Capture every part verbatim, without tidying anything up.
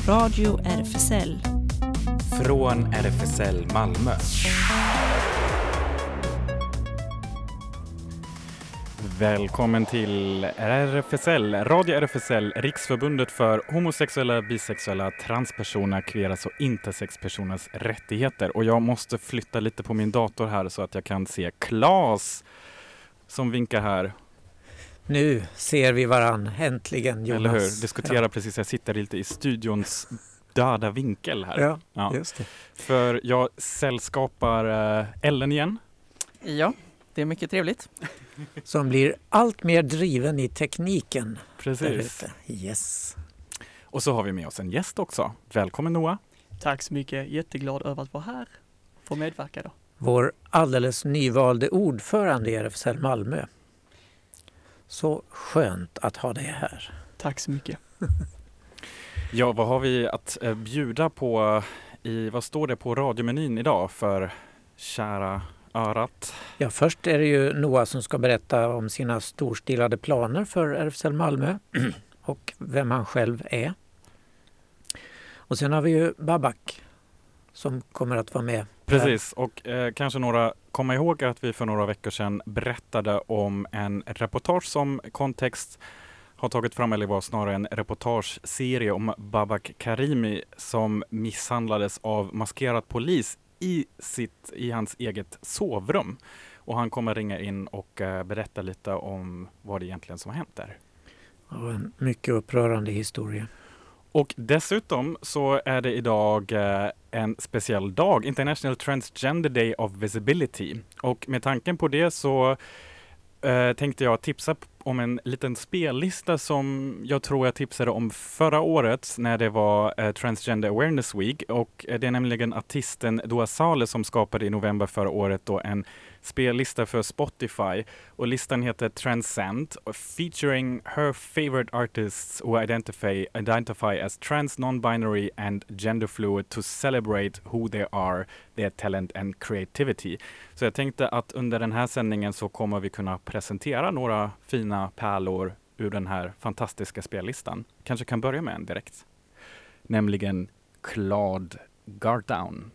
Radio R F S L. Från R F S L Malmö. Välkommen till R F S L, Radio R F S L, Riksförbundet för homosexuella, bisexuella, transpersoner, kveras och intersexpersoners rättigheter. Och jag måste flytta lite på min dator här så att jag kan se Claes som vinkar här. Nu ser vi varann, äntligen, Jonas. Eller hur? Diskutera ja. precis, jag sitter lite i studions döda vinkel här. Ja, ja. Just det. För jag sällskapar uh, Ellen igen. Ja, det är mycket trevligt. Som blir allt mer driven i tekniken. Precis. Yes. Och så har vi med oss en gäst också. Välkommen Noah. Tack så mycket. Jätteglad över att vara här och få medverka då. Vår alldeles nyvalde ordförande i R F S L Malmö. Så skönt att ha dig här. Tack så mycket. Ja, vad har vi att eh, bjuda på i, vad står det på radiomenyn idag för kära örat? Ja, först är det ju Noah som ska berätta om sina storstilade planer för R F S L Malmö och vem han själv är. Och sen har vi ju Babak som kommer att vara med. Precis, och eh, kanske några kommer ihåg att vi för några veckor sedan berättade om en reportage som Kontext har tagit fram, eller var snarare en reportageserie om Babak Karimi som misshandlades av maskerad polis i, sitt, i hans eget sovrum. Och han kommer ringa in och uh, berätta lite om vad det egentligen som har hänt där. Ja, en mycket upprörande historia. Och dessutom så är det idag uh, en speciell dag, International Transgender Day of Visibility. Och med tanken på det så uh, tänkte jag tipsa om en liten spellista som jag tror jag tipsade om förra året när det var uh, Transgender Awareness Week. Och uh, det är nämligen artisten Dua Saleh som skapade i november förra året då en spellista för Spotify. Och listan heter Transcend, featuring her favorite artists who identify, identify as trans, non-binary and gender fluid to celebrate who they are, their talent and creativity. Så jag tänkte att under den här sändningen så kommer vi kunna presentera några fina pärlor ur den här fantastiska spellistan. Kanske kan börja med en direkt. Nämligen Claude Gardown.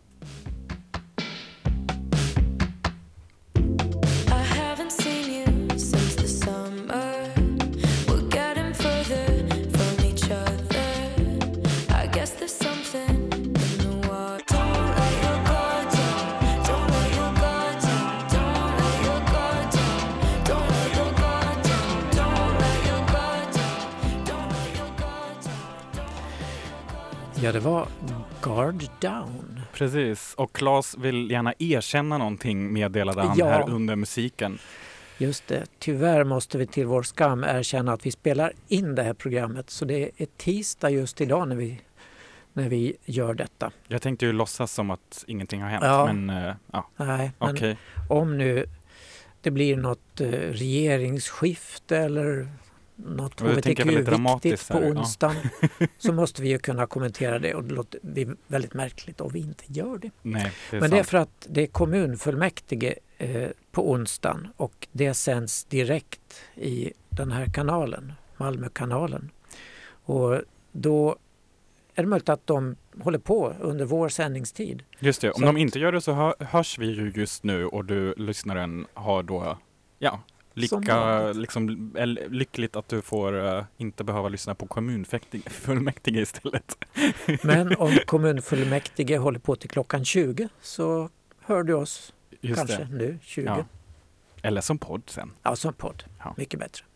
Ja, det var Guard Down. Precis, och Claes vill gärna erkänna någonting, meddelade han ja. här under musiken. Just det, tyvärr måste vi till vår skam erkänna att vi spelar in det här programmet. Så det är tisdag just idag när vi, när vi gör detta. Jag tänkte ju låtsas som att ingenting har hänt, ja. men uh, ja. Nej, men okay. Om nu det blir något uh, regeringsskifte eller något H B T Q-viktigt på onsdagen ja. så måste vi ju kunna kommentera det, och det låter vi väldigt märkligt om vi inte gör det. Nej, det är Men sant. det är för att det är kommunfullmäktige eh, på onsdagen och det sänds direkt i den här kanalen, Malmökanalen. Och då är det möjligt att de håller på under vår sändningstid. Just det, om så de inte gör det så hör, hörs vi ju just nu och du, lyssnaren, har då, ja, Lika, liksom, lyckligt att du får uh, inte behöva lyssna på kommunfullmäktige istället. Men om kommunfullmäktige håller på till klockan tjugo så hör du oss Just kanske det. nu tjugo. Ja. Eller som podd sen. Ja, som podd. Ja. Mycket bättre.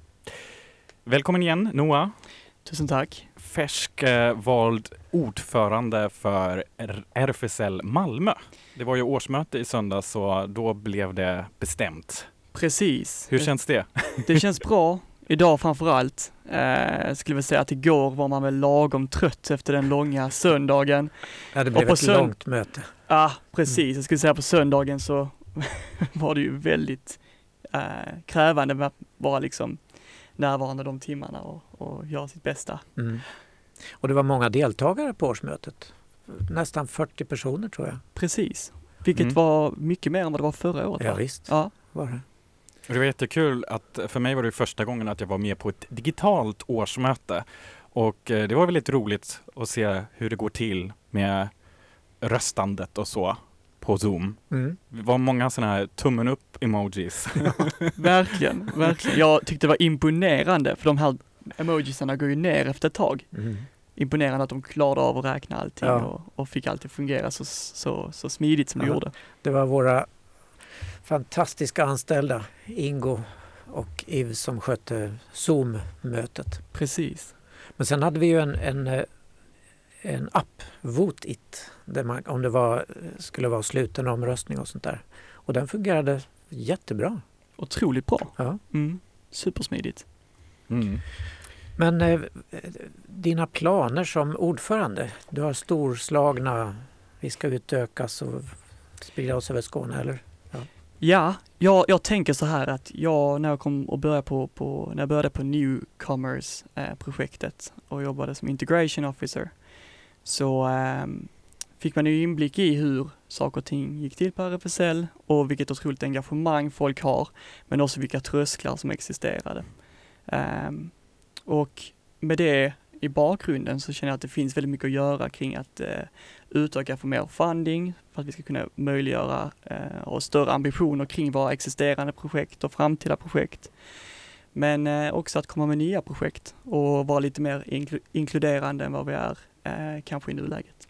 Välkommen igen, Noah. Tusen tack. Färsk eh, vald ordförande för R F S L Malmö. Det var ju årsmöte i söndag så då blev det bestämt. Precis. Hur känns det? Det känns bra. Idag framförallt. Eh, skulle väl säga att igår var man väl lagom trött efter den långa söndagen. Ja, det blev ett sönd- långt möte. Ja, ah, precis. Mm. Jag skulle säga på söndagen så var det ju väldigt eh, krävande med att vara liksom närvarande de timmarna och, och göra sitt bästa. Mm. Och det var många deltagare på årsmötet. Nästan fyrtio personer tror jag. Precis. Vilket mm. var mycket mer än vad det var förra året. Ja, visst. Ja, var det. Det var jättekul att för mig var det första gången att jag var med på ett digitalt årsmöte. Och eh, det var väldigt roligt att se hur det går till med röstandet och så på Zoom. Mm. Det var många sådana här tummen upp emojis. Verkligen, verkligen. Jag tyckte det var imponerande för de här emojisarna går ju ner efter ett tag. Mm. Imponerande att de klarade av att räkna allting Ja. och, och fick allt att fungera så, så, så smidigt som det Ja. gjorde. Det var våra fantastiska anställda Ingo och Yves som skötte Zoom-mötet. Precis. Men sen hade vi ju en, en, eh, en app, Vote It, där man, om det var, skulle vara sluten omröstning och sånt där. Och den fungerade jättebra. Otroligt bra. Ja. Mm. Supersmidigt. Mm. Men eh, dina planer som ordförande, du har storslagna, vi ska utökas och sprida oss över Skåne, eller? Ja, jag, jag tänker så här att jag när jag kom och började på, på när jag började på Newcomers-projektet eh, och jobbade som integration officer så eh, fick man ju inblick i hur saker och ting gick till på R F S L och vilket otroligt engagemang folk har, men också vilka trösklar som existerade. Eh, och med det i bakgrunden så känner jag att det finns väldigt mycket att göra kring att eh, utöka för mer funding för att vi ska kunna möjliggöra eh, och större ambitioner kring våra existerande projekt och framtida projekt. Men eh, också att komma med nya projekt och vara lite mer inkl- inkluderande än vad vi är eh, kanske i nuläget.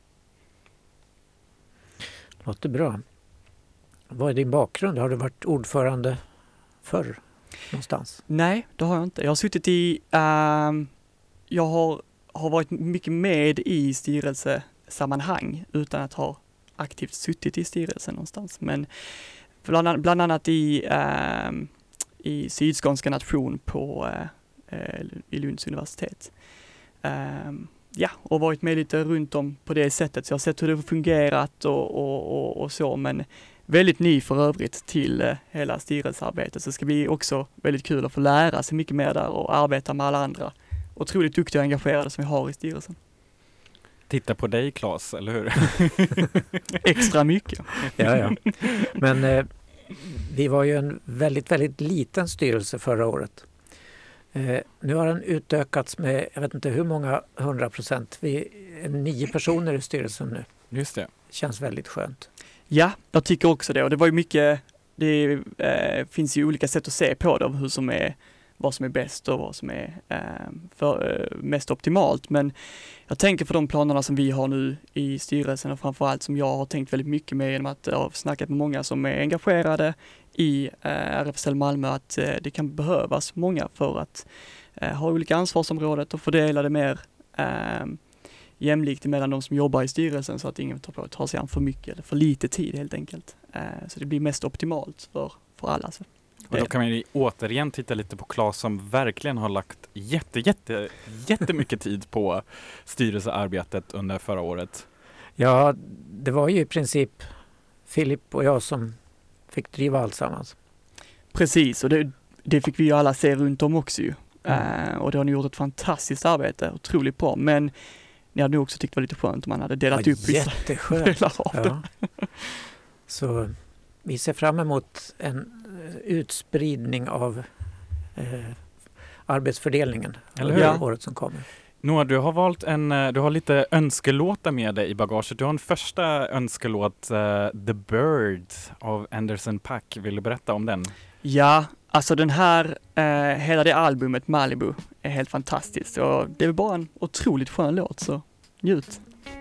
Låter bra. Vad är din bakgrund? Har du varit ordförande förr någonstans? Nej, det har jag inte. Jag har suttit i, eh, jag har, har varit mycket med i styrelsesammanhang utan att ha aktivt suttit i styrelsen någonstans. Men bland, bland annat i, eh, i Sydskånska nation på eh, i Lunds universitet. Eh, ja, och varit med lite runt om på det sättet. Så jag har sett hur det har fungerat och, och, och, och så, men väldigt ny för övrigt till eh, hela styrelsearbetet. Så det ska bli också väldigt kul att få lära sig mycket mer där och arbeta med alla andra otroligt duktiga och engagerade som vi har i styrelsen. Titta på dig, Claes, eller hur? Extra mycket. Ja, ja. Men eh, vi var ju en väldigt, väldigt liten styrelse förra året. Eh, nu har den utökats med, jag vet inte hur många hundra procent. Vi är nio personer i styrelsen nu. Just det. Känns väldigt skönt. Ja, jag tycker också det. Och det var ju mycket, det eh, finns ju olika sätt att se på det, hur som är, vad som är bäst och vad som är eh, för, eh, mest optimalt. Men jag tänker för de planerna som vi har nu i styrelsen och framförallt som jag har tänkt väldigt mycket med genom att jag har snackat med många som är engagerade i eh, R F S L Malmö, att eh, det kan behövas många för att eh, ha olika ansvarsområden och fördela det mer eh, jämlikt mellan de som jobbar i styrelsen så att ingen tar på att ta sig an för mycket eller för lite tid helt enkelt. Eh, så det blir mest optimalt för, för alla. Så. Och då kan man ju återigen titta lite på Claes som verkligen har lagt jätte, jätte, jättemycket tid på styrelsearbetet under förra året. Ja, det var ju i princip Filip och jag som fick driva alltsammans. Precis, och det, det fick vi ju alla se runt om också ju. Mm. Eh, och det har ni gjort ett fantastiskt arbete, otroligt bra. Men ni hade nog också tyckt det var lite skönt om man hade delat Ja, upp vissa jätteskönt. delar av det. Ja. Så vi ser fram emot en eh, utspridning av eh, arbetsfördelningen Eller under hur? året som kommer. Noah, du har valt en, eh, du har lite önskelåtar med dig i bagaget. Du har en första önskelåt, uh, The Bird av Anderson .Paak. Vill du berätta om den? Ja, alltså den här, eh, hela det albumet Malibu är helt fantastiskt. Och det är bara en otroligt skön låt, så njut.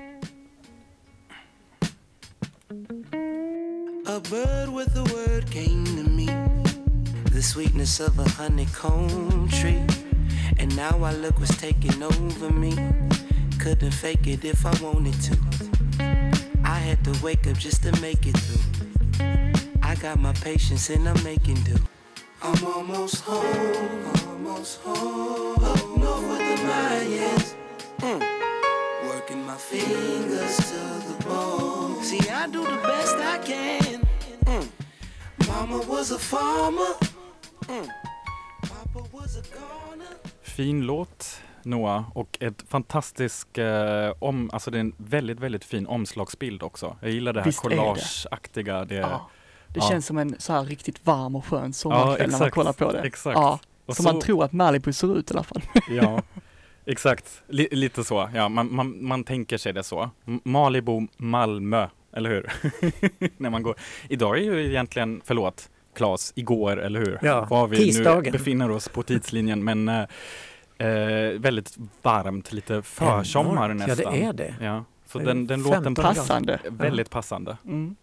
A bird with a word came to me, the sweetness of a honeycomb tree, and now I look what's taking over me. Couldn't fake it if I wanted to. I had to wake up just to make it through. I got my patience and I'm making do. I'm almost home, almost home, up north with the Mayans. Mm. Working my fingers to the bone. See, I do the best I can. Mm. Mama was a farmer. Mm. Papa was a gardener. Fin låt, Noah, och ett fantastisk eh, om, alltså det är en väldigt, väldigt fin omslagsbild också. Jag gillar det här Visst är det. collageaktiga. Det, Ja, det ja. känns som en så här riktigt varm och skön sommarkväll när man kollar på det. Exakt. Ja, Och som så, man tror att Malibu ser ut i alla fall. ja. Exakt, L- lite så. Ja, man, man, man tänker sig det så. M- Malibu, Malmö, eller hur? När man går. Idag är ju egentligen, förlåt, Claes, igår, eller hur? Ja, Var vi tisdagen. nu befinner oss på tidslinjen, men eh, eh, väldigt varmt, lite försommar Enormt. nästan. Ja, det är det. Ja, så Det är den, den låten femton passar Passande. väldigt passande. Mm.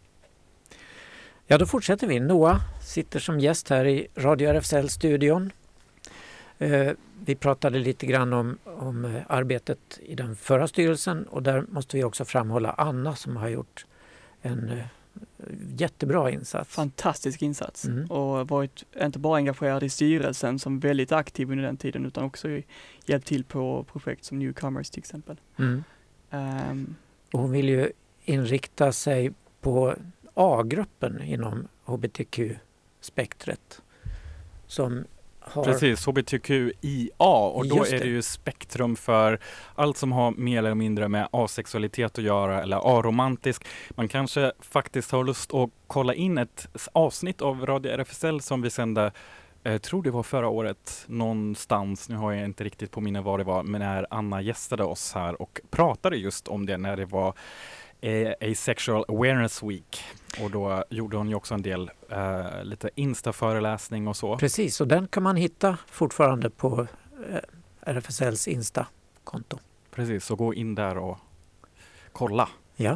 Ja, då fortsätter vi. Noah sitter som gäst här i Radio R F S L-studion. Eh, vi pratade lite grann om, om eh, arbetet i den förra styrelsen och där måste vi också framhålla Anna som har gjort en eh, jättebra insats. Fantastisk insats Mm. och varit inte bara engagerad i styrelsen som väldigt aktiv under den tiden utan också hjälpt till på projekt som Newcomers till exempel. Mm. Um, Och hon vill ju inrikta sig på A-gruppen inom H B T Q-spektret som har... Precis, H B T Q I A, och då Just är det. det ju spektrum för allt som har mer eller mindre med asexualitet att göra eller aromantisk. Man kanske faktiskt har lust att kolla in ett s- avsnitt av Radio R F S L som vi sände, jag tror det var förra året någonstans, nu har jag inte riktigt på minne vad det var, men när Anna gästade oss här och pratade just om det när det var eh, Asexual Awareness Week. Och då gjorde hon ju också en del eh, lite Insta-föreläsning och så. Precis, och den kan man hitta fortfarande på eh, R F S L:s Insta-konto. Precis, så gå in där och kolla. Ja.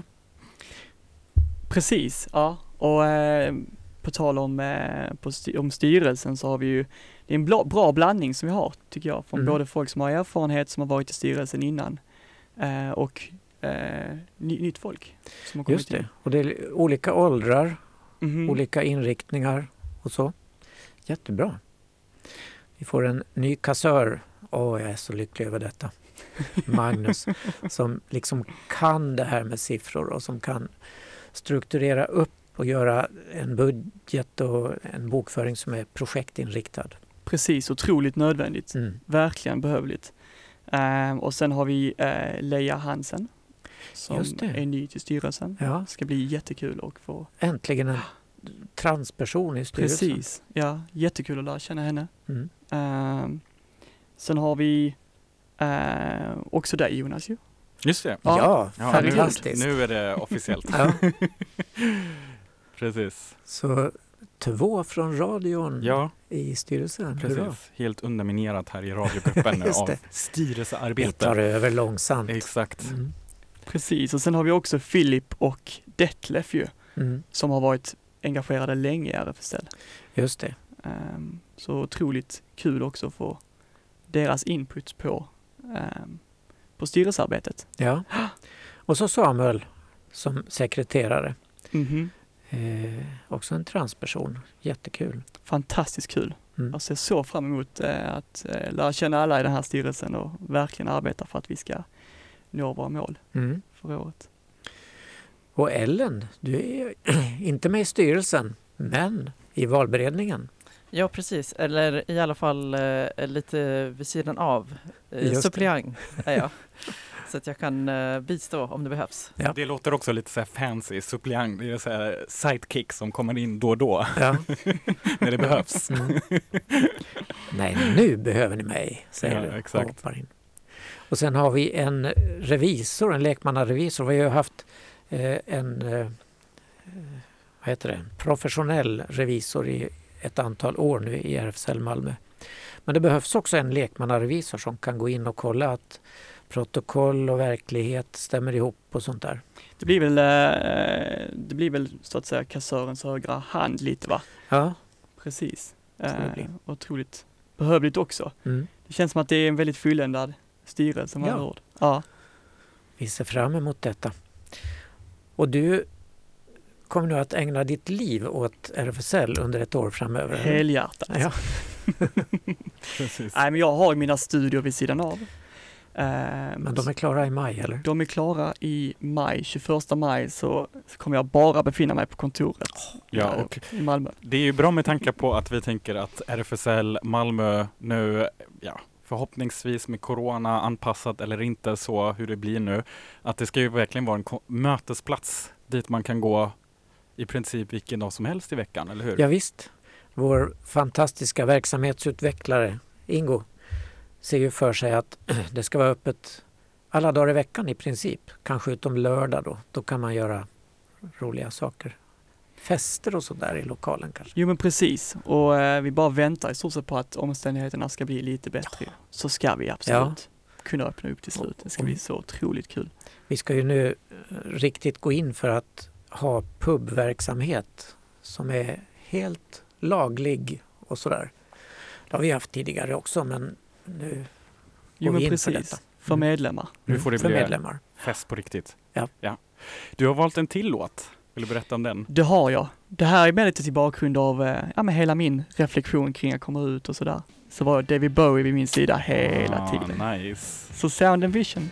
Precis, ja. Och eh, på tal om, eh, på styr- om styrelsen så har vi ju, det är en bla, bra blandning som vi har tycker jag. Från Mm. både folk som har erfarenhet som har varit i styrelsen innan eh, och eh, ny, nytt folk som har kommit Just det, in. och det är olika åldrar, Mhm. olika inriktningar och så. Jättebra. Vi får en ny kassör. Åh, jag är så lycklig över detta. Magnus, som liksom kan det här med siffror och som kan strukturera upp och göra en budget och en bokföring som är projektinriktad. Precis, otroligt nödvändigt. Mm. Verkligen behövligt. Eh, och sen har vi eh, Leia Hansen som Just det. är ny till styrelsen. Ja, Det ska bli jättekul att få... äntligen en transperson i styrelsen. Precis, ja, jättekul att lära känna henne. Mm. Eh, sen har vi eh, också dig Jonas ju. Just det. Ja, Ja, nu, fantastiskt. nu är det officiellt. Ja, Precis. så två från radion Ja, i styrelsen. Hurra. precis. Helt underminerat här i radiogruppen nu Just av det. Vi styrelsearbete. tar över långsamt. Exakt. Mm. Precis, och sen har vi också Filip och Detlef ju, Mm. som har varit engagerade länge i R F S L. Just det. Um, så otroligt kul också att få deras input på, um, på styrelsearbetet. Ja. Och så Samuel som sekreterare. Mhm. Eh, också en transperson. Jättekul. Fantastiskt kul. Mm. Jag ser så fram emot eh, att eh, lära känna alla i den här styrelsen och verkligen arbeta för att vi ska nå våra mål Mm. för året. Och Ellen, du är inte med i styrelsen, men i valberedningen. Ja, precis. Eller i alla fall eh, lite vid sidan av. Eh, Just det. suppleant är jag. Så att jag kan eh, bistå om det behövs. Ja. Det låter också lite så här fancy, suppleant. Det är så här sidekick som kommer in då och då Ja. när det behövs. Mm. Nej, nu behöver ni mig, säger Ja, du. exakt. och hoppar in. Och sen har vi en revisor, en lekmannarevisor. Vi har ju haft eh, en eh, vad heter det? professionell revisor i ett antal år nu i R F S L Malmö. Men det behövs också en lekmannarevisor som kan gå in och kolla att protokoll och verklighet stämmer ihop och sånt där. Det blir väl, eh, det blir väl så att säga kassörens högra hand lite va? Ja. Precis. Så det blir. Eh, otroligt behövligt också. Mm. Det känns som att det är en väldigt fulländad styrelse med Ja. andra ord. Ja. Vi ser fram emot detta. Och du kommer nu att ägna ditt liv åt R F S L under ett år framöver? eller? Helhjärtat. Ja. Precis. Nej, men jag har ju mina studier vid sidan av. Eh, Men de är klara i maj, eller? de är klara i maj. tjugoförsta maj så kommer jag bara befinna mig på kontoret Ja, eh, och i Malmö. det är ju bra med tanke på att vi tänker att R F S L Malmö nu, ja, förhoppningsvis med corona anpassat eller inte så hur det blir nu, att det ska ju verkligen vara en ko- mötesplats dit man kan gå i princip vilken dag som helst i veckan, eller hur? Ja, visst. Vår fantastiska verksamhetsutvecklare Ingo ser ju för sig att det ska vara öppet alla dagar i veckan i princip. Kanske utom lördag då. Då kan man göra roliga saker. Fester och sådär i lokalen kanske. Jo men precis, och eh, vi bara väntar i stort sett på att omständigheterna ska bli lite bättre. Ja. Så ska vi absolut ja. kunna öppna upp till slut. Det ska bli så otroligt kul. Vi ska ju nu riktigt gå in för att ha pubverksamhet som är helt laglig och sådär. Det har vi haft tidigare också, men nu jo, går vi men in precis. för detta. För medlemmar. Mm. Nu får det för bli medlemmar. Fest på riktigt. Ja. ja. Du har valt en till låt. Vill du berätta om den? Det har jag. Det här är med lite till bakgrund av ja, med hela min reflektion kring att komma ut och sådär. Så var David Bowie vid min sida hela ah, tiden. Nice. Så Sound and Vision.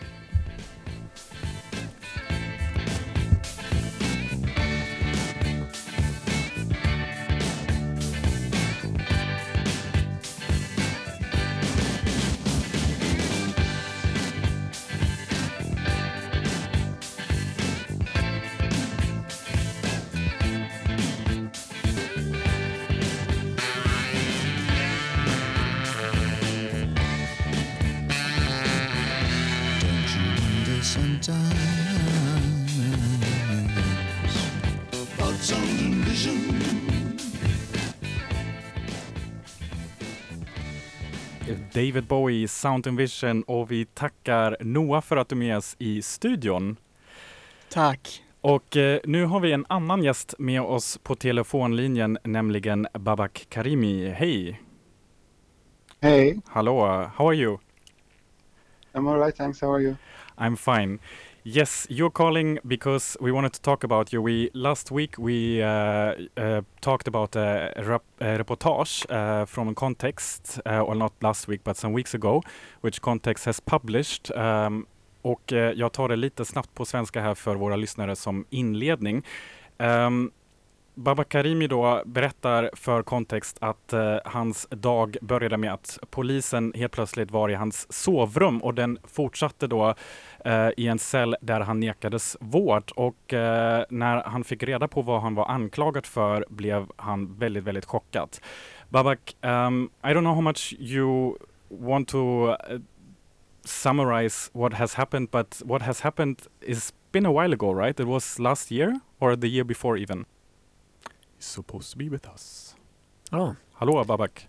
David Bowie, Sound and Vision, och vi tackar Noah för att du är med oss i studion. Tack. Och eh, nu har vi en annan gäst med oss på telefonlinjen, nämligen Babak Karimi. Hej! Hey. Hallå, how are you? I'm all right, thanks. How are you? I'm fine. Yes, you're calling because we wanted to talk about you. We last week we uh, uh, talked about a, rep a reportage uh, from a Context, uh, or not last week but some weeks ago, which Context has published. Um, och uh, jag tar det lite snabbt på svenska här för våra lyssnare som inledning. Um, Babak Karimi då berättar för Kontext att eh, hans dag började med att polisen helt plötsligt var i hans sovrum, och den fortsatte då eh, i en cell där han nekades vård, och eh, när han fick reda på vad han var anklagad för blev han väldigt, väldigt chockad. Babak, um, I don't know how much you want to uh, summarize what has happened, but what has happened is been a while ago, right? It was last year or the year before even. Supposed to be with us. Ja. Hallå Babak.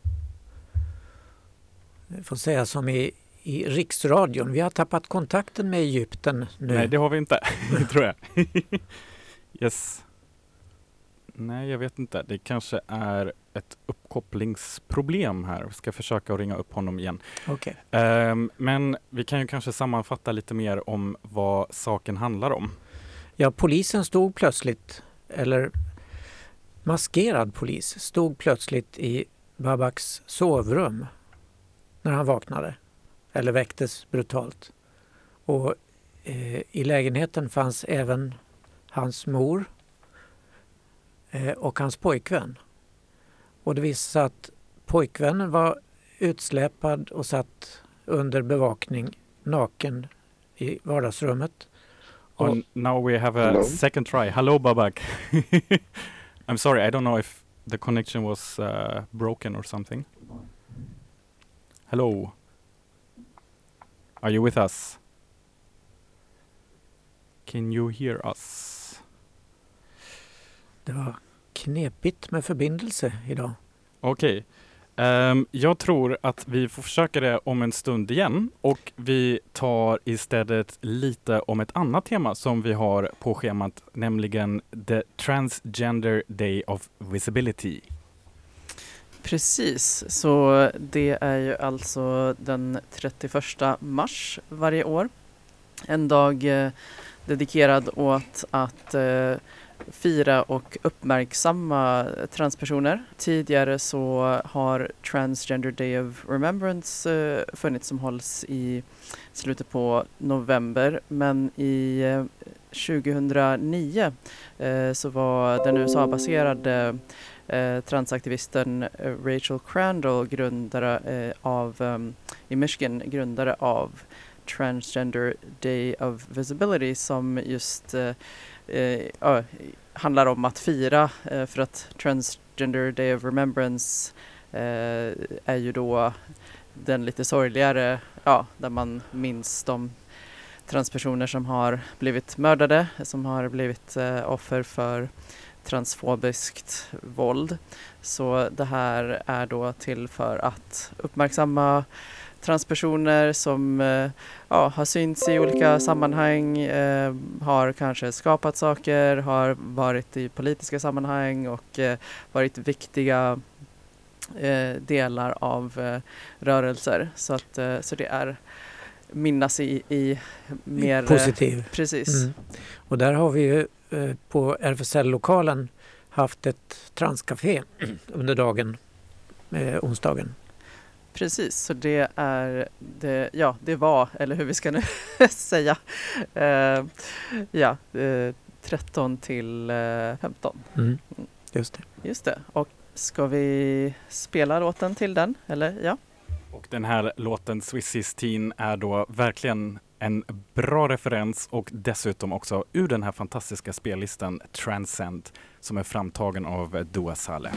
Jag får säga som i, i Riksradion. Vi har tappat kontakten med Egypten nu. Nej, det har vi inte, tror jag. Yes. Nej, jag vet inte. Det kanske är ett uppkopplingsproblem här. Vi ska försöka ringa upp honom igen. Okay. Um, men vi kan ju kanske sammanfatta lite mer om vad saken handlar om. Ja, polisen stod plötsligt, eller maskerad polis stod plötsligt i Babaks sovrum när han vaknade eller väcktes brutalt. Och eh, i lägenheten fanns även hans mor eh, och hans pojkvän. Och det visade sig att pojkvännen var utsläpad och satt under bevakning naken i vardagsrummet. Och oh, now we have a hello? second try. Hello Babak. I'm sorry, I don't know if the connection was uh, broken or something. Hello. Are you with us? Can you hear us? Det var knepigt med förbindelse idag. Okej. Okay. Um, jag tror att vi får försöka det om en stund igen, och vi tar istället lite om ett annat tema som vi har på schemat, nämligen The Transgender Day of Visibility. Precis, så det är ju alltså den trettioförsta mars varje år. En dag eh, dedikerad åt att eh, fira och uppmärksamma transpersoner. Tidigare så har Transgender Day of Remembrance eh, funnits, som hålls i slutet på november, men i eh, tjugohundranio eh, så var den U S A-baserade eh, transaktivisten eh, Rachel Crandall, grundare eh, av um, i Michigan, grundare av Transgender Day of Visibility, som just eh, eh, handlar om att fira, eh, för att Transgender Day of Remembrance eh, är ju då den lite sorgligare, ja, där man minns de transpersoner som har blivit mördade, som har blivit eh, offer för transfobiskt våld. Så det här är då till för att uppmärksamma transpersoner som eh, ja, har synts i olika sammanhang, eh, har kanske skapat saker, har varit i politiska sammanhang och eh, varit viktiga eh, delar av eh, rörelser. Så, att, eh, så det är minnas i, i mer... Positiv. Precis. Mm. Och där har vi ju eh, på R F S L-lokalen haft ett transcafé under dagen, eh, onsdagen. Precis, så det är, det, ja det var, eller hur vi ska nu säga, eh, ja, eh, tretton till femton. Mm. Just det. Just det, och ska vi spela låten till den, eller ja? Och den här låten Swiss sexton är då verkligen en bra referens och dessutom också ur den här fantastiska spellistan Transcend som är framtagen av Dua Saleh.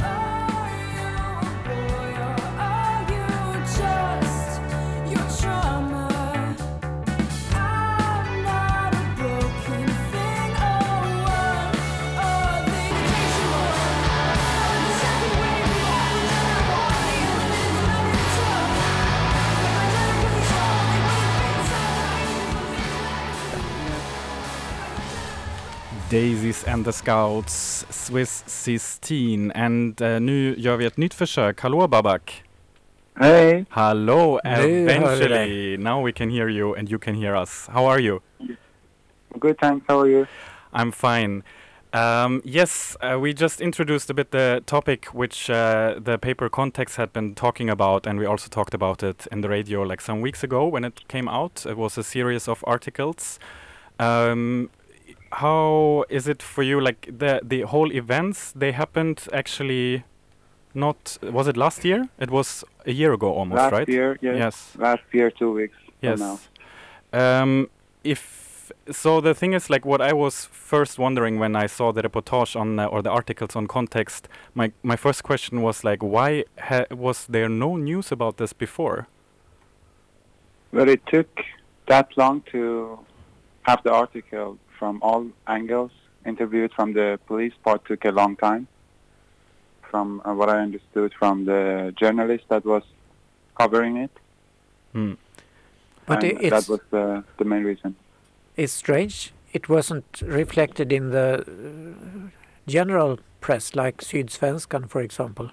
Daisies and the Scouts, Swiss sexton. And uh, nu gör vi ett nytt försök. Hallå Babak. Hey. Hello, Nu hör vi eventually. Now we can hear you and you can hear us. How are you? Good, thanks. How are you? I'm fine. Um, yes, uh, we just introduced a bit the topic which uh, the paper Context had been talking about, and we also talked about it in the radio like some weeks ago when it came out. It was a series of articles. Um, how is it for you, like the the whole events, they happened actually not, was it last year? It was a year ago almost, Last right? year, yes. Yes. Last year, two weeks Yes. from now. Um, if so, the thing is, like, what I was first wondering when I saw the reportage on uh, or the articles on Context, my my first question was like, why ha was there no news about this before? Well, it took that long to have the article from all angles interviewed from the police part. Took a long time. From uh, what I understood from the journalist that was covering it. Hmm. But And it's, that was the, the main reason. it's strange. It wasn't reflected in the uh, general press, like Sydsvenskan, for example.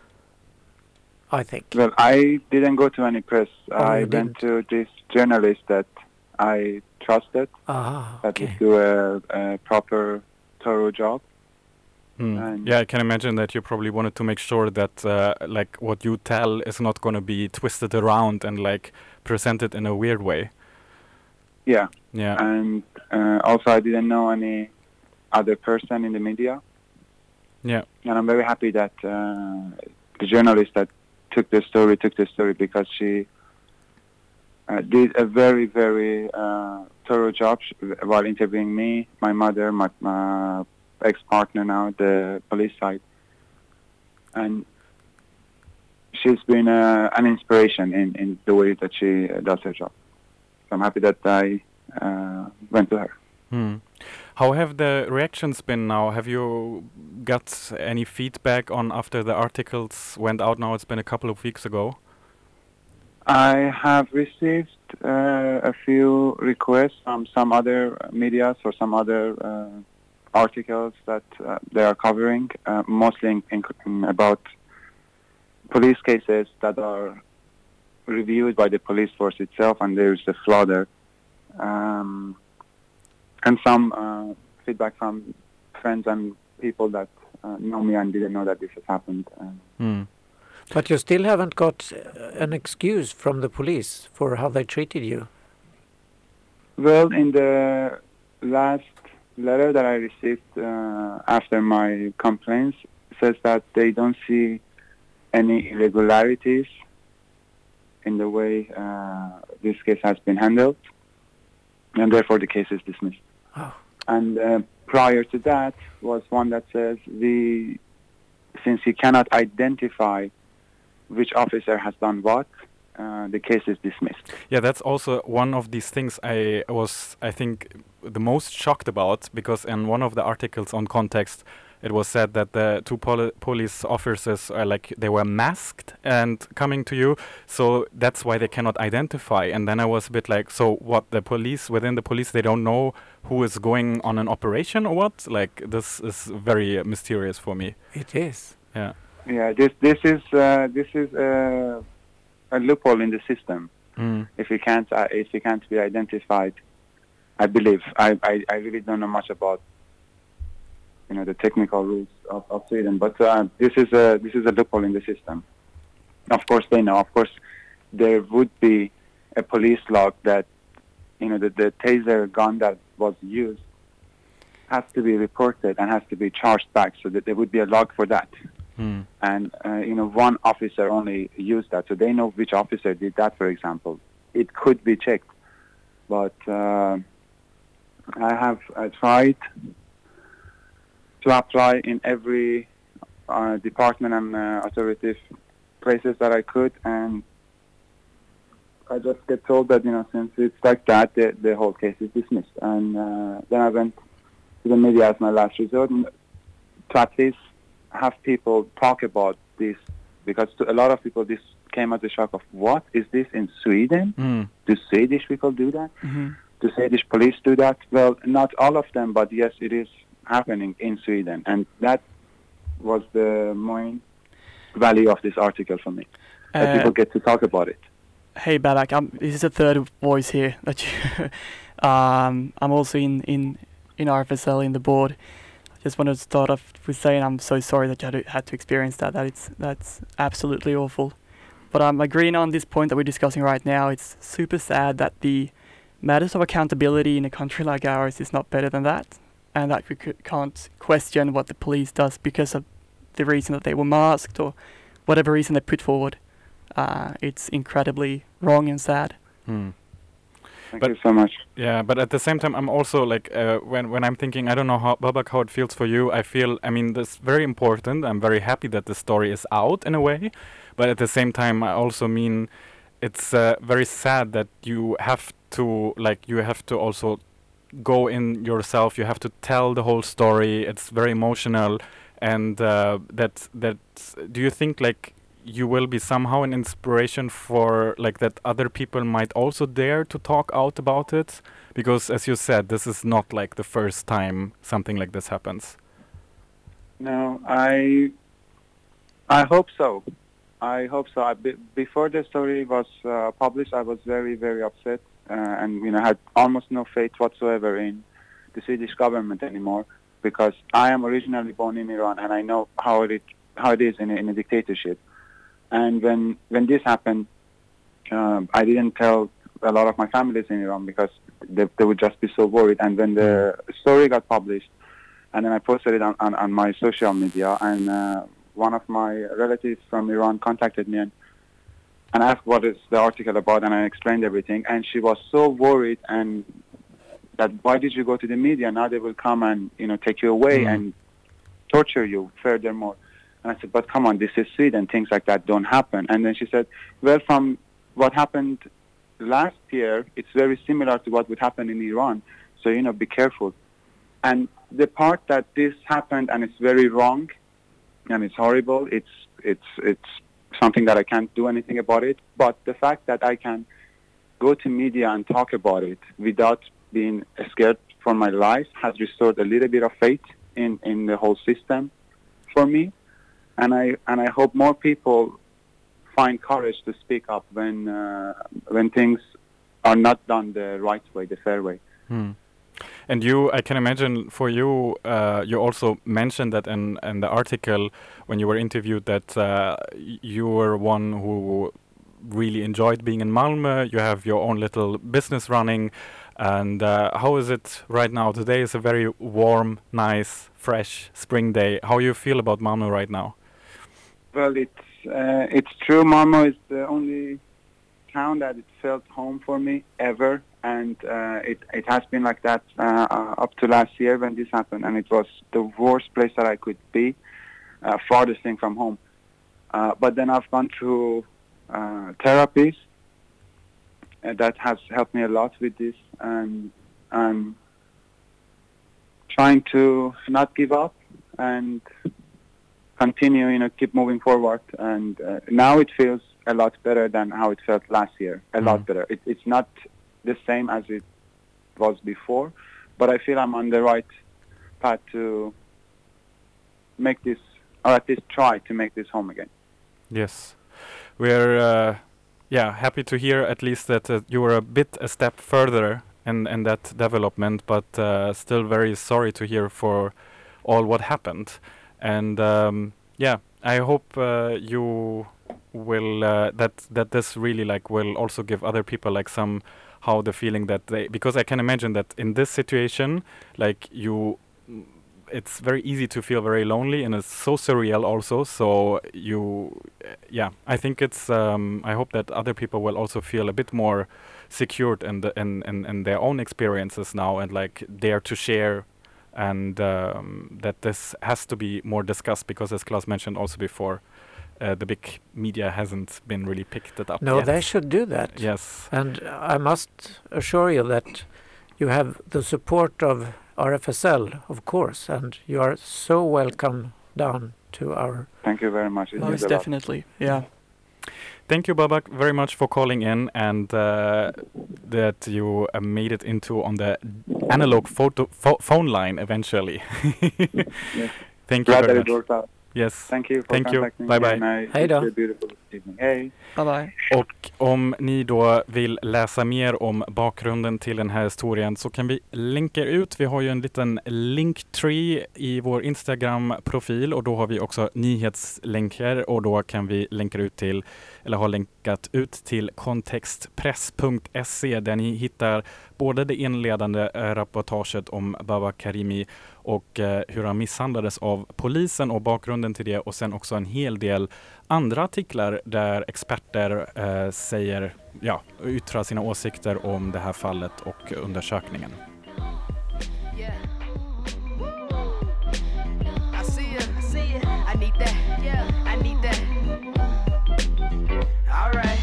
I think. Well, I didn't go to any press. Oh, I you went to this journalist that I trusted, Ah, that okay. would do a, a proper, thorough job. Hmm. And- Yeah, I can imagine that you probably wanted to make sure that uh, like what you tell is not going to be twisted around and like presented in a weird way. Yeah, Yeah. and uh, also I didn't know any other person in the media. Yeah. And I'm very happy that uh, the journalist that took the story took the story because she uh, did a very, very uh, thorough job sh- while interviewing me, my mother, my, my ex-partner now, the police side. And she's been uh, an inspiration in, in the way that she uh, does her job. So I'm happy that I uh, went to her. Hmm. How have the reactions been now? Have you got any feedback on after the articles went out now? It's been a couple of weeks ago. I have received uh, a few requests from some other media or some other uh, articles that uh, they are covering, uh, mostly in, in, in about police cases that are reviewed by the police force itself, and there's a flaw there. Um, and some uh, feedback from friends and people that uh, know me and didn't know that this has happened. Um, Hmm. But you still haven't got uh, an excuse from the police for how they treated you. Well, in the last letter that I received uh, after my complaints, says that they don't see any irregularities in the way uh, this case has been handled, and therefore the case is dismissed. Oh. And uh, prior to that was one that says, we, since he cannot identify which officer has done what, uh, the case is dismissed. Yeah, that's also one of these things I was, I think, the most shocked about, because in one of the articles on Context, it was said that the two poli- police officers are like, they were masked and coming to you, so that's why they cannot identify. And then I was a bit like, so what, the police, within the police, they don't know who is going on an operation or what? Like, this is very mysterious for me. It is. Yeah. Yeah, this this is uh, this is uh, a loophole in the system. Mm. If you can't uh, if you can't be identified, I believe I, I, I really don't know much about you know the technical rules of, of Sweden, but uh, this is a this is a loophole in the system. Of course they know. Of course there would be a police log that you know the, the taser gun that was used has to be reported and has to be charged back, so that there would be a log for that. Mm. And uh, you know one officer only used that, so they know which officer did that. For example, it could be checked, but uh, I have uh, tried to apply in every uh, department and uh, authoritative places that I could, and I just get told that, you know, since it's like that, the, the whole case is dismissed. And uh, then I went to the media as my last resort to at least have people talk about this, because to a lot of people this came as a shock of, what, is this in Sweden? Mm. Do Swedish people do that? Mm-hmm. Do Swedish police do that? Well, not all of them, but yes, it is happening in Sweden, and that was the main value of this article for me. That Uh, people get to talk about it. Hey Babak, I'm, this is the third voice here that you. um, I'm also in in in R F S L in the board. I just wanted to start off with saying I'm so sorry that you had to, had to experience that. That it's that's absolutely awful. But I'm agreeing on this point that we're discussing right now. It's super sad that the matters of accountability in a country like ours is not better than that, and that we c- can't question what the police does because of the reason that they were masked or whatever reason they put forward. Uh, it's incredibly wrong and sad. Mm. Thank But- you so much. Yeah, but at the same time, I'm also like, uh, when when I'm thinking, I don't know how, Babak, how it feels for you. I feel, I mean, that's very important. I'm very happy that the story is out in a way, but at the same time, I also mean, it's uh, very sad that you have to, like, you have to also go in yourself. You have to tell the whole story. It's very emotional, and uh, that that. Do you think like you will be somehow an inspiration for like that other people might also dare to talk out about it? Because as you said, this is not like the first time something like this happens. No, I I hope so. I hope so. I, be, before the story was uh, published, I was very, very upset, uh, and you know had almost no faith whatsoever in the Swedish government anymore, because I am originally born in Iran, and I know how it how it is in a, in a dictatorship. And when when this happened, um, I didn't tell a lot of my families in Iran because they, they would just be so worried. And when the story got published, and then I posted it on, on, on my social media, and uh, one of my relatives from Iran contacted me and, and asked what is the article about, and I explained everything. And she was so worried, and that why did you go to the media? Now they will come and you know take you away Mm. and torture you furthermore. And I said, but come on, this is Sweden. Things like that don't happen. And then she said, well, from what happened last year, it's very similar to what would happen in Iran. So, you know, be careful. And the part that this happened and it's very wrong and it's horrible, it's it's it's something that I can't do anything about it. But the fact that I can go to media and talk about it without being scared for my life has restored a little bit of faith in, in the whole system for me. And I and I hope more people find courage to speak up when uh, when things are not done the right way, the fair way. Hmm. And you, I can imagine for you, uh, you also mentioned that in, in the article when you were interviewed that uh, y- you were one who really enjoyed being in Malmö. You have your own little business running. And uh, how is it right now? Today is a very warm, nice, fresh spring day. How you feel about Malmö right now? Well, it's uh, it's true. Malmö is the only town that it felt home for me ever, and uh, it it has been like that uh, uh, up to last year when this happened, and it was the worst place that I could be, uh, farthest thing from home. Uh, but then I've gone through uh, therapies uh, that has helped me a lot with this, and I'm trying to not give up and continue, you know, keep moving forward. And uh, now it feels a lot better than how it felt last year. A mm. lot better. It, it's not the same as it was before, but I feel I'm on the right path to make this, or at least try to make this home again. Yes, we're uh, yeah happy to hear at least that uh, you were a bit a step further in, in that development, but uh, still very sorry to hear for all what happened. And um, yeah, I hope uh, you will uh, that that this really like will also give other people like some how the feeling that they, because I can imagine that in this situation, like you, it's very easy to feel very lonely, and it's so surreal also. So you, uh, yeah, I think it's, um, I hope that other people will also feel a bit more secured in, the, in, in, in their own experiences now, and like dare to share, and um, that this has to be more discussed, because as Claes mentioned also before, Uh, the big media hasn't been really picked it up No, yet. they should do that. Yes. And I must assure you that you have the support of R F S L, of course, and you are so welcome down to our... Thank you very much. It Most means a definitely, yeah. Thank you, Babak, very much for calling in, and uh, that you uh, made it into on the analog photo pho- phone line eventually. Yes. Thank you Glad very that it much. worked out. Yes. Thank you for Thank you. contacting Bye me. bye. and I Hej då. wish you a beautiful evening. Hej. Bye bye. Och om ni då vill läsa mer om bakgrunden till den här historien så kan vi länka ut. Vi har ju en liten linktree i vår Instagram-profil, och då har vi också nyhetslänkar, och då kan vi länka ut till, eller har länkat ut till kontextpress punkt se, där ni hittar både det inledande eh, rapportaget om Babak Karimi och eh, hur han misshandlades av polisen och bakgrunden till det, och sen också en hel del andra artiklar där experter eh, säger, ja, yttrar sina åsikter om det här fallet och undersökningen. Yeah. I see you, I see you. I need that, yeah, I need that. All right.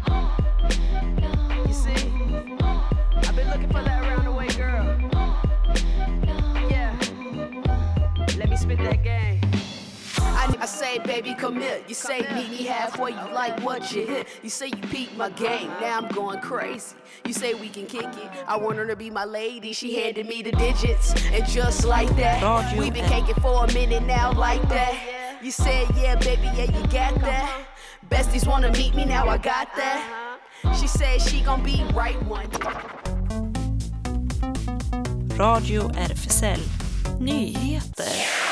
You see, I've been looking for that around the way, girl. Yeah. Let me spit that game. I, I say, baby, come here. You say, meet me halfway. You like what you hit. You say you peaked my game. Now I'm going crazy. You say we can kick it. I want her to be my lady. She handed me the digits, and just like that, we've been caking for a minute now, like that. You said, yeah, baby, yeah, you got that. Besties wanna meet me, now I got that. She said she gon' be right one day. Radio R F S L Nyheter.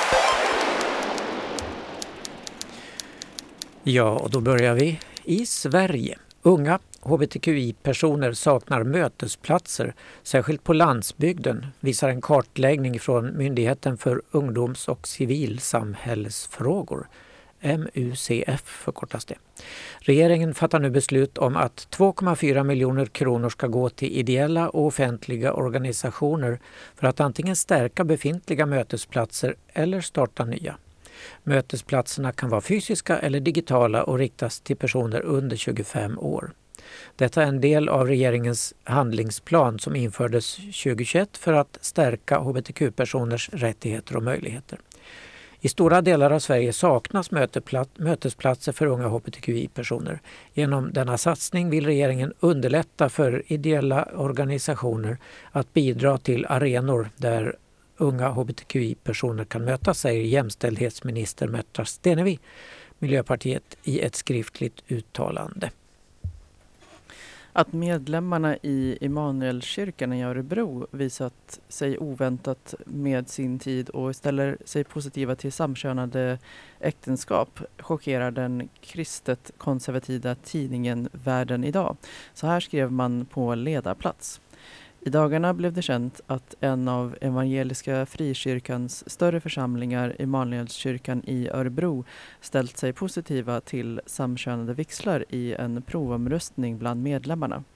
Ja, och då börjar vi i Sverige. Unga H B T Q I-personer saknar mötesplatser, särskilt på landsbygden, visar en kartläggning från Myndigheten för ungdoms- och civilsamhällsfrågor. M U C F förkortas det. Regeringen fattar nu beslut om att två komma fyra miljoner kronor ska gå till ideella och offentliga organisationer för att antingen stärka befintliga mötesplatser eller starta nya. Mötesplatserna kan vara fysiska eller digitala och riktas till personer under tjugofem år. Detta är en del av regeringens handlingsplan som infördes tjugohundratjugoett för att stärka H B T Q-personers rättigheter och möjligheter. I stora delar av Sverige saknas mötesplatser för unga H B T Q I-personer. Genom denna satsning vill regeringen underlätta för ideella organisationer att bidra till arenor där unga H B T Q I-personer kan mötas, säger jämställdhetsminister Märta Stenevi, Miljöpartiet, i ett skriftligt uttalande. Att medlemmarna i Immanuelskyrkan i Örebro visat sig oväntat med sin tid och ställer sig positiva till samkönade äktenskap chockerar den kristet konservativa tidningen Världen idag. Så här skrev man på ledarplats. I dagarna blev det känt att en av evangeliska frikyrkans större församlingar, Immanuelskyrkan i Örebro, ställt sig positiva till samkönade vigslar i en provomröstning bland medlemmarna.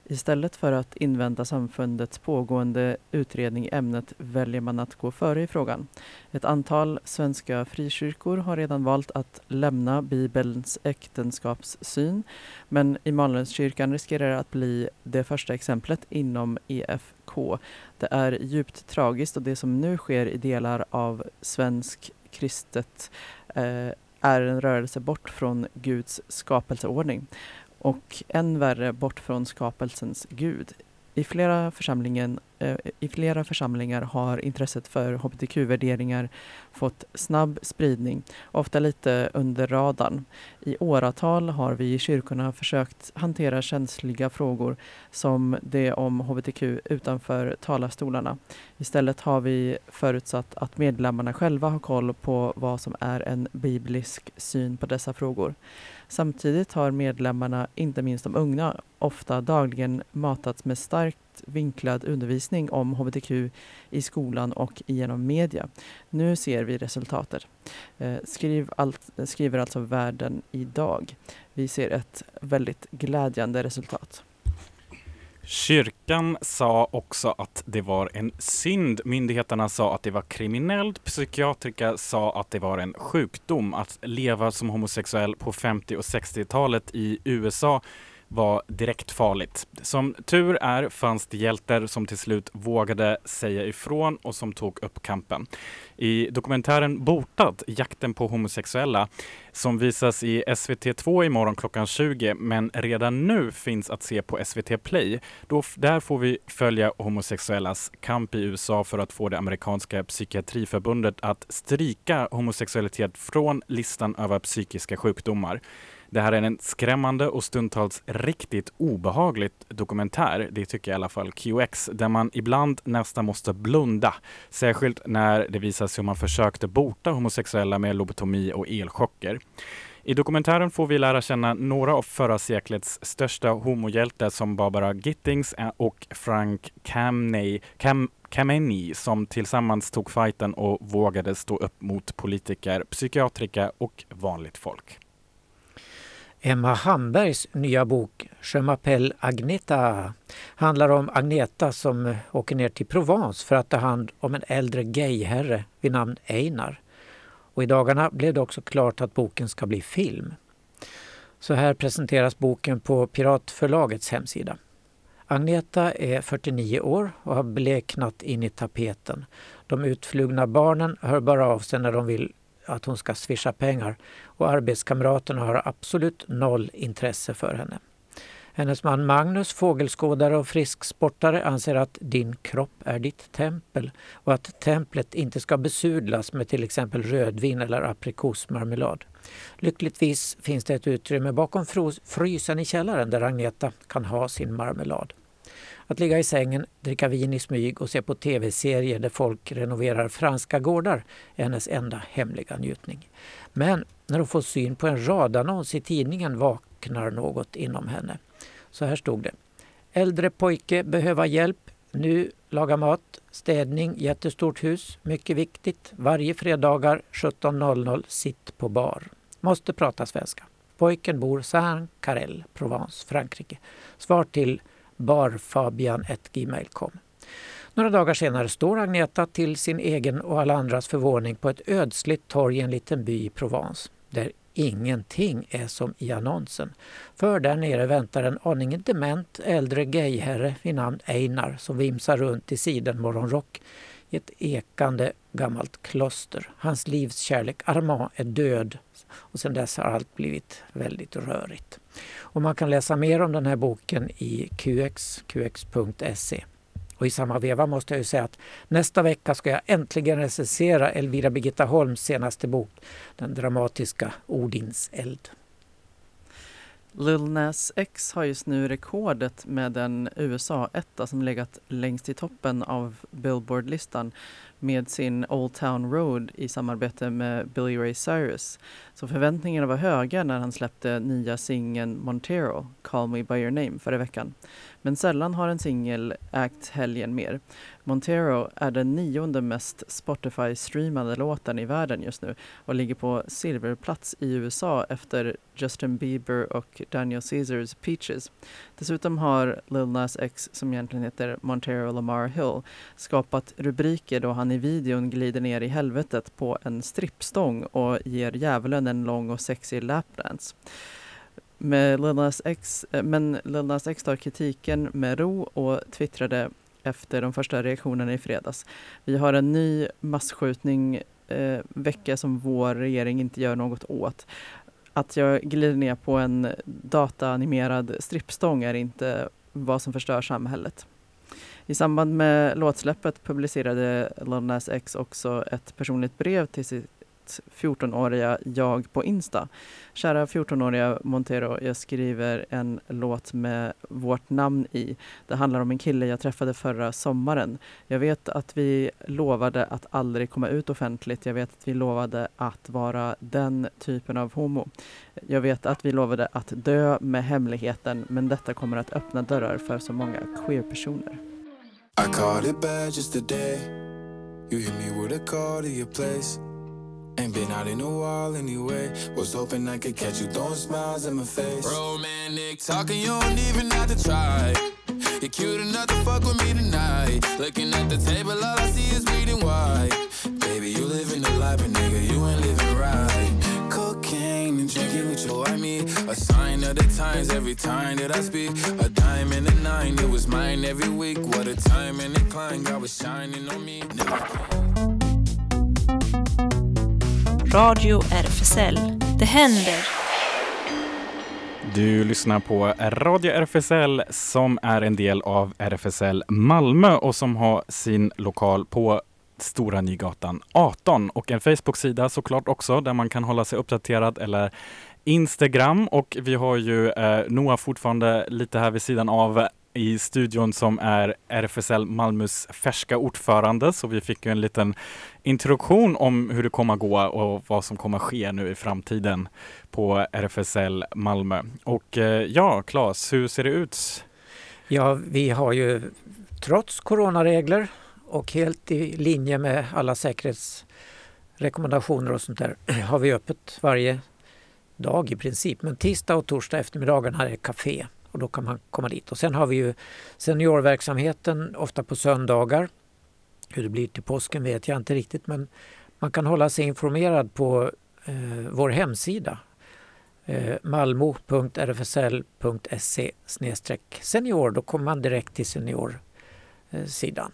Istället för att invänta samfundets pågående utredning i ämnet väljer man att gå före i frågan. Ett antal svenska frikyrkor har redan valt att lämna Bibelns äktenskapssyn, men Immanuelskyrkan riskerar att bli det första exemplet inom E F K. Det är djupt tragiskt och det som nu sker i delar av svensk kristet eh, är en rörelse bort från Guds skapelseordning. Och än värre bort från skapelsens Gud. I flera, församlingen, eh, I flera församlingar har intresset för H B T Q-värderingar fått snabb spridning, ofta lite under radarn. I åratal har vi i kyrkorna försökt hantera känsliga frågor som det om H B T Q utanför talarstolarna. Istället har vi förutsatt att medlemmarna själva har koll på vad som är en biblisk syn på dessa frågor. Samtidigt har medlemmarna, inte minst de unga, ofta dagligen matats med starkt vinklad undervisning om H B T Q i skolan och genom media. Nu ser vi resultatet. Eh, skriv allt, skriver alltså Världen idag. Vi ser ett väldigt glädjande resultat. Kyrkan sa också att det var en synd. Myndigheterna sa att det var kriminellt. Psykiatriker sa att det var en sjukdom. Att leva som homosexuell på femtio- och sextiotalet i U S A var direkt farligt. Som tur är fanns det hjältar som till slut vågade säga ifrån och som tog upp kampen. I dokumentären Botad, jakten på homosexuella, som visas i S V T två imorgon klockan tjugo, men redan nu finns att se på S V T Play. Då, där får vi följa homosexuellas kamp i U S A för att få det amerikanska psykiatriförbundet att stryka homosexualitet från listan över psykiska sjukdomar. Det här är en skrämmande och stundtals riktigt obehagligt dokumentär, det tycker i alla fall Q X, där man ibland nästan måste blunda. Särskilt när det visas hur man försökte bota homosexuella med lobotomi och elchocker. I dokumentären får vi lära känna några av förra seklets största homohjältar som Barbara Gittings och Frank Kameny, Kam, Kameny som tillsammans tog fighten och vågade stå upp mot politiker, psykiatriker och vanligt folk. Emma Hambergs nya bok Je m'appelle Agneta handlar om Agneta som åker ner till Provence för att ta hand om en äldre gayherre vid namn Einar. Och i dagarna blev det också klart att boken ska bli film. Så här presenteras boken på Piratförlagets hemsida. Agneta är fyrtionio år och har bleknat in i tapeten. De utflugna barnen hör bara av sig när de vill att hon ska swisha pengar och arbetskamraterna har absolut noll intresse för henne. Hennes man Magnus, fågelskådare och frisksportare, anser att din kropp är ditt tempel och att templet inte ska besudlas med till exempel rödvin eller aprikosmarmelad. Lyckligtvis finns det ett utrymme bakom frysen i källaren där Agneta kan ha sin marmelad. Att ligga i sängen, dricka vin i smyg och se på tv-serier där folk renoverar franska gårdar är hennes enda hemliga njutning. Men när hon får syn på en radannons i tidningen vaknar något inom henne. Så här stod det. Äldre pojke behöver hjälp. Nu laga mat, städning, jättestort hus. Mycket viktigt. Varje fredagar sjutton noll noll sitt på bar. Måste prata svenska. Pojken bor Saint-Carrel, Provence, Frankrike. Svar till barfabian at gmail punkt com. Några dagar senare står Agneta till sin egen och alla andras förvåning på ett ödsligt torg i en liten by i Provence, där ingenting är som i annonsen. För där nere väntar en aningen dement äldre gayherre vid namn Einar som vimsar runt i sidenmorgonrock i ett ekande gammalt kloster. Hans livs kärlek Armand är död och sedan dess har allt blivit väldigt rörigt. Och man kan läsa mer om den här boken i Q X, Q X punkt se. Och i samma veva måste jag ju säga att nästa vecka ska jag äntligen recensera Elvira Birgitta Holms senaste bok, den dramatiska Odins eld. Lil Nas X har just nu rekordet med en U S A-etta som legat längst i toppen av Billboard-listan med sin Old Town Road i samarbete med Billy Ray Cyrus. Så förväntningarna var höga när han släppte nya singeln Montero, Call Me By Your Name, förra veckan. Men sällan har en singel ägt helgen mer. Montero är den nionde mest Spotify-streamade låten i världen just nu och ligger på silverplats i U S A efter Justin Bieber och Daniel Caesars Peaches. Dessutom har Lil Nas X, som egentligen heter Montero Lamar Hill, skapat rubriker då han i videon glider ner i helvetet på en strippstång och ger djävulen en lång och sexig lapdance. Med Lil Nas X, men Lil Nas X tar kritiken med ro och twittrade efter de första reaktionerna i fredags. Vi har en ny massskjutning eh, vecka som vår regering inte gör något åt. Att jag glider ner på en dataanimerad strippstång är inte vad som förstör samhället. I samband med låtsläppet publicerade Lil Nas X också ett personligt brev till sitt fjortonåriga jag på Insta. Kära fjortonåriga Montero, jag skriver en låt med vårt namn i. Det handlar om en kille jag träffade förra sommaren. Jag vet att vi lovade att aldrig komma ut offentligt. Jag vet att vi lovade att vara den typen av homo. Jag vet att vi lovade att dö med hemligheten, men detta kommer att öppna dörrar för så många queer-personer. I caught it bad just today. You hit me with a call to your place. Ain't been out in a while anyway. Was hoping I could catch you throwing smiles in my face. Romantic talking, you don't even have to try. You're cute enough to fuck with me tonight. Looking at the table, all I see is bleeding white. Baby, you living the life, but nigga, you ain't living right. Cocaine and drinking with your I mean, a sign of the times every time that I speak. A dime and a nine, it was mine every week. What a time and a climb, God was shining on me. Never Radio R F S L. Det händer. Du lyssnar på Radio R F S L som är en del av R F S L Malmö och som har sin lokal på Stora Nygatan arton och en Facebook-sida såklart också där man kan hålla sig uppdaterad eller Instagram. Och vi har ju eh, Noah fortfarande lite här vid sidan av i studion som är R F S L Malmös färska ordförande, så vi fick ju en liten introduktion om hur det kommer att gå och vad som kommer att ske nu i framtiden på R F S L Malmö. Och eh, ja, Claes, hur ser det ut? Ja, vi har ju trots coronaregler och helt i linje med alla säkerhetsrekommendationer och sånt där har vi öppet varje dag i princip. Men tisdag och torsdag eftermiddagen här är café. Och då kan man komma dit. Och sen har vi ju seniorverksamheten ofta på söndagar. Hur det blir till påsken vet jag inte riktigt. Men man kan hålla sig informerad på eh, vår hemsida. Eh, malmo punkt r f s l punkt s e slash senior. Då kommer man direkt till seniorsidan.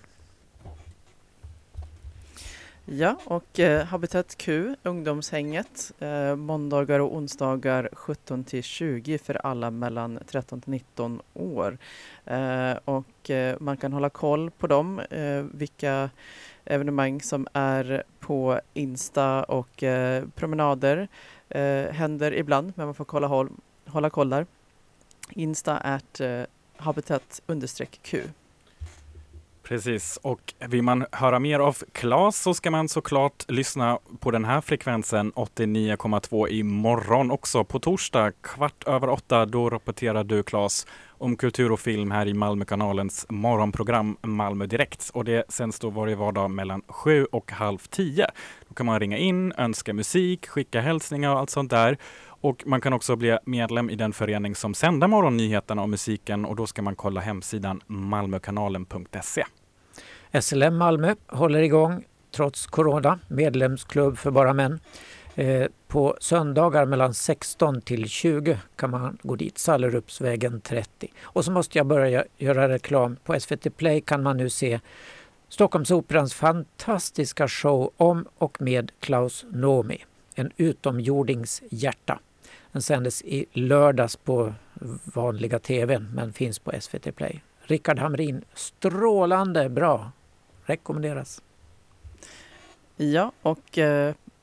Ja, och eh, Habitat Q, ungdomshänget, eh, måndagar och onsdagar sjutton till tjugo för alla mellan tretton till nitton år. Eh, och eh, man kan hålla koll på dem, eh, vilka evenemang som är på Insta och eh, promenader eh, händer ibland, men man får kolla, håll, hålla koll där. Insta at eh, habitat understreck Q. Precis, och vill man höra mer av Claes så ska man såklart lyssna på den här frekvensen åttionio komma två imorgon också. På torsdag kvart över åtta, då rapporterar du, Claes, om kultur och film här i Malmökanalens morgonprogram Malmö Direkt. Och det sänds då varje vardag mellan sju och halv tio. Då kan man ringa in, önska musik, skicka hälsningar och allt sånt där. Och man kan också bli medlem i den förening som sänder morgonnyheterna och musiken, och då ska man kolla hemsidan malmökanalen punkt se. S L M Malmö håller igång trots corona, medlemsklubb för bara män. Eh, på söndagar mellan sexton till tjugo kan man gå dit, Sallerupsvägen trettio. Och så måste jag börja göra reklam. På S V T Play kan man nu se Stockholmsoperans fantastiska show om och med Klaus Nomi, en utomjordings hjärta. Den sändes i lördags på vanliga tvn men finns på S V T Play. Rickard Hamrin, strålande bra. Rekommenderas. Ja, och eh,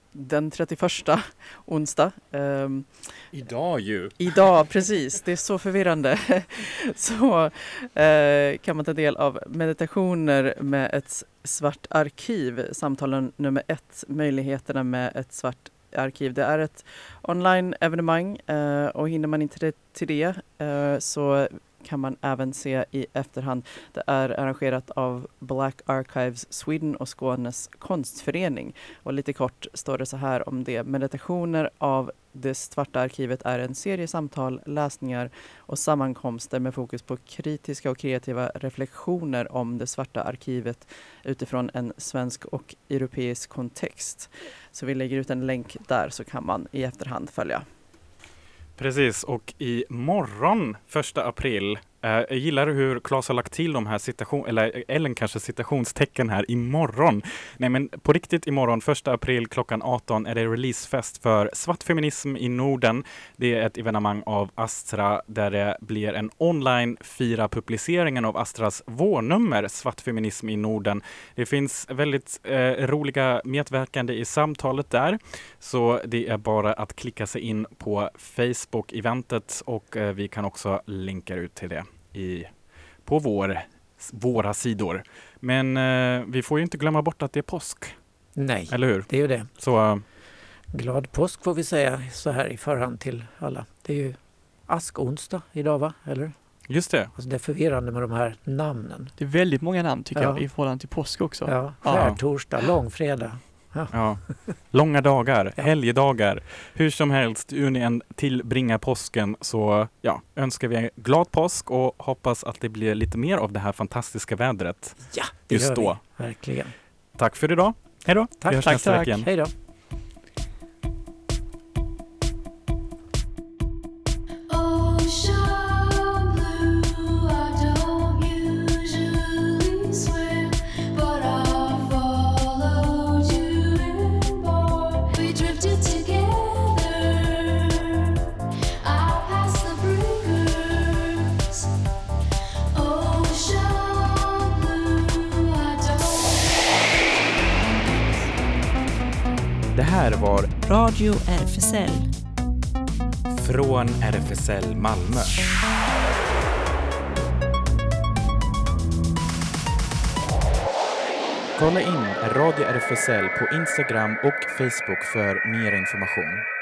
den trettioförsta onsdag. Um, Idag ju. Idag, precis. Det är så förvirrande. så uh, kan man ta del av meditationer med ett svart arkiv. Samtalen nummer ett, möjligheterna med ett svart arkiv. Det är ett online-evenemang uh, och hinner man inte till det uh, så kan man även se i efterhand. Det är arrangerat av Black Archives Sweden och Skånes konstförening. Och lite kort står det så här om det. Meditationer av det svarta arkivet är en serie samtal, läsningar och sammankomster med fokus på kritiska och kreativa reflektioner om det svarta arkivet utifrån en svensk och europeisk kontext. Så vi lägger ut en länk där så kan man i efterhand följa. Precis, och imorgon, första april, eh, jag gillar hur Claes har lagt till de här citation, eller Ellen kanske citationstecken här, imorgon. Nej men på riktigt imorgon, första april klockan arton är det releasefest för Svart feminism i Norden. Det är ett evenemang av Astra där det blir en online fira publiceringen av Astras vårnummer Svart feminism i Norden. Det finns väldigt eh, roliga medverkande i samtalet där, så det är bara att klicka sig in på Facebook-eventet och eh, vi kan också länka ut till det i, på vår, våra sidor. Men eh, vi får ju inte glömma bort att det är påsk. Nej, eller hur? Det är ju det. Så, uh, glad påsk får vi säga så här i förhand till alla. Det är ju askonsdag idag, va? Eller? Just det. Alltså det är förvirrande med de här namnen. Det är väldigt många namn tycker ja. jag i förhållande till påsk också. Ja, skärtorsdag, långfredag. Ja. Ja. Långa dagar, ja. Helgdagar. Hur som helst, hur ni än tillbringar påsken så ja, önskar vi en glad påsk och hoppas att det blir lite mer av det här fantastiska vädret. Ja, det just gör då. Vi. Verkligen. Tack för idag. Hej då. Tack, vi hörs tack, nästa tack. vecka igen. Hej då. Det här var Radio R F S L från R F S L Malmö. Kolla in Radio R F S L på Instagram och Facebook för mer information.